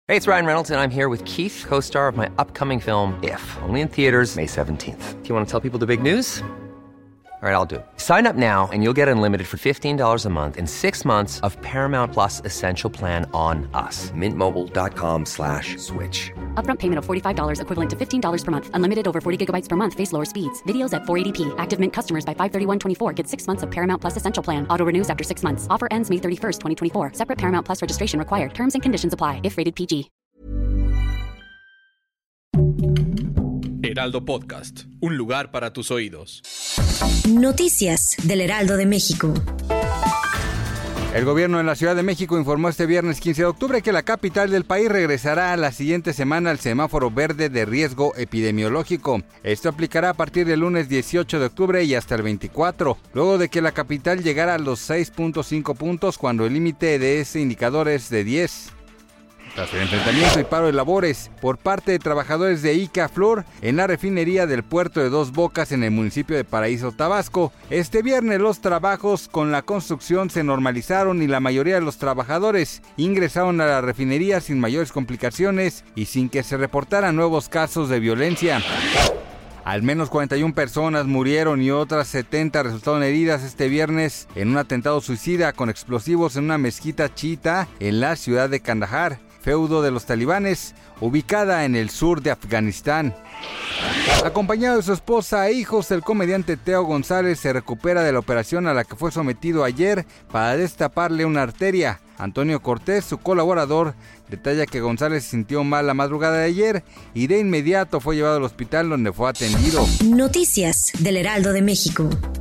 Hey, it's Ryan Reynolds, and I'm here with Keith, co-star of my upcoming film, If, only in theaters May 17th. Do you want to tell people the big news? All right, I'll do it. Sign up now and you'll get unlimited for $15 a month and 6 months of Paramount Plus Essential Plan on us. MintMobile.com/switch. Upfront payment of $45 equivalent to $15 per month. Unlimited over 40 gigabytes per month. Face lower speeds. Videos at 480p. Active Mint customers by 531.24 get 6 months of Paramount Plus Essential Plan. Auto renews after 6 months. Offer ends May 31st, 2024. Separate Paramount Plus registration required. Terms and conditions apply if rated PG. Heraldo Podcast, un lugar para tus oídos. Noticias del Heraldo de México. El gobierno de la Ciudad de México informó este viernes 15 de octubre que la capital del país regresará la siguiente semana al semáforo verde de riesgo epidemiológico. Esto aplicará a partir del lunes 18 de octubre y hasta el 24, luego de que la capital llegara a los 6.5 puntos cuando el límite de ese indicador es de 10. Tras el enfrentamiento y paro de labores por parte de trabajadores de Icaflor en la refinería del puerto de Dos Bocas en el municipio de Paraíso, Tabasco, este viernes los trabajos con la construcción se normalizaron y la mayoría de los trabajadores ingresaron a la refinería sin mayores complicaciones y sin que se reportaran nuevos casos de violencia. Al menos 41 personas murieron y otras 70 resultaron heridas este viernes en un atentado suicida con explosivos en una mezquita chiita en la ciudad de Kandahar, feudo de los talibanes, ubicada en el sur de Afganistán. Acompañado de su esposa e hijos, el comediante Teo González se recupera de la operación a la que fue sometido ayer para destaparle una arteria. Antonio Cortés, su colaborador, detalla que González se sintió mal la madrugada de ayer y de inmediato fue llevado al hospital donde fue atendido. Noticias del Heraldo de México.